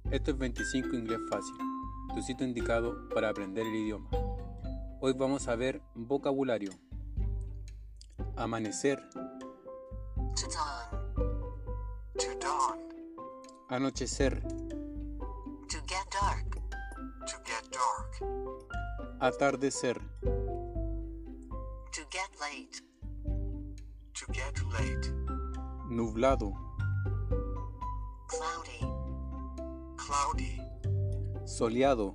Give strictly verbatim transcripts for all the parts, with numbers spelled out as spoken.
Esto es veinticinco Inglés Fácil, tu sitio indicado para aprender el idioma. Hoy vamos a ver vocabulario. Amanecer, To dawn. To dawn. anochecer, To get dark. To get dark. atardecer, To get late. To get late. nublado, Cloudy. Cloudy. soleado,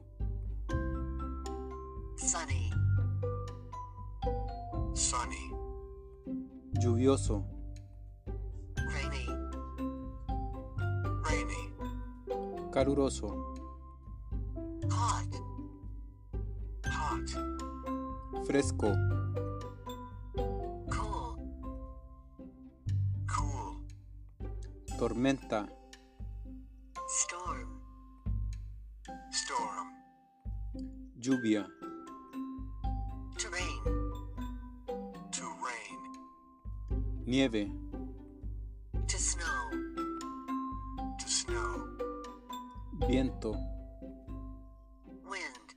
Sunny. Sunny. lluvioso, Rainy. Rainy. caluroso, Hot. Hot. fresco, Cool. Cool. tormenta, Storm. Storm. lluvia, To rain. To rain. nieve, To snow. To snow. viento, Wind.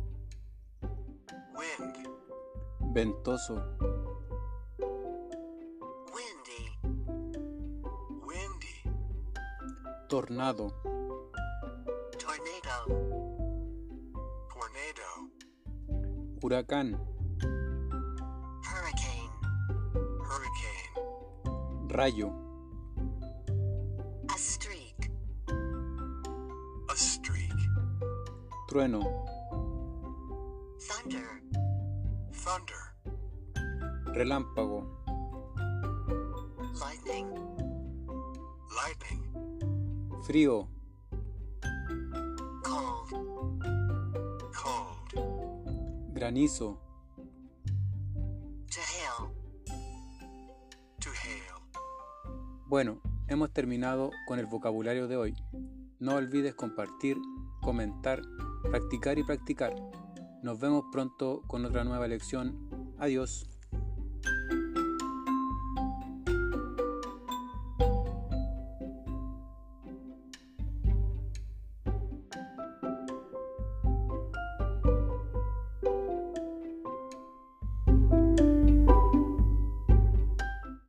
Wind. ventoso, Windy. Windy. tornado, Tornado. Tornado. huracán, Hurricane. Hurricane. rayo, A streak. A streak. trueno, Thunder. Thunder. relámpago, Lightning. Lightning. frío, Cold. Cold. granizo. To hail. To hail. Bueno, hemos terminado con el vocabulario de hoy. No olvides compartir, comentar, practicar y practicar. Nos vemos pronto con otra nueva lección. Adiós.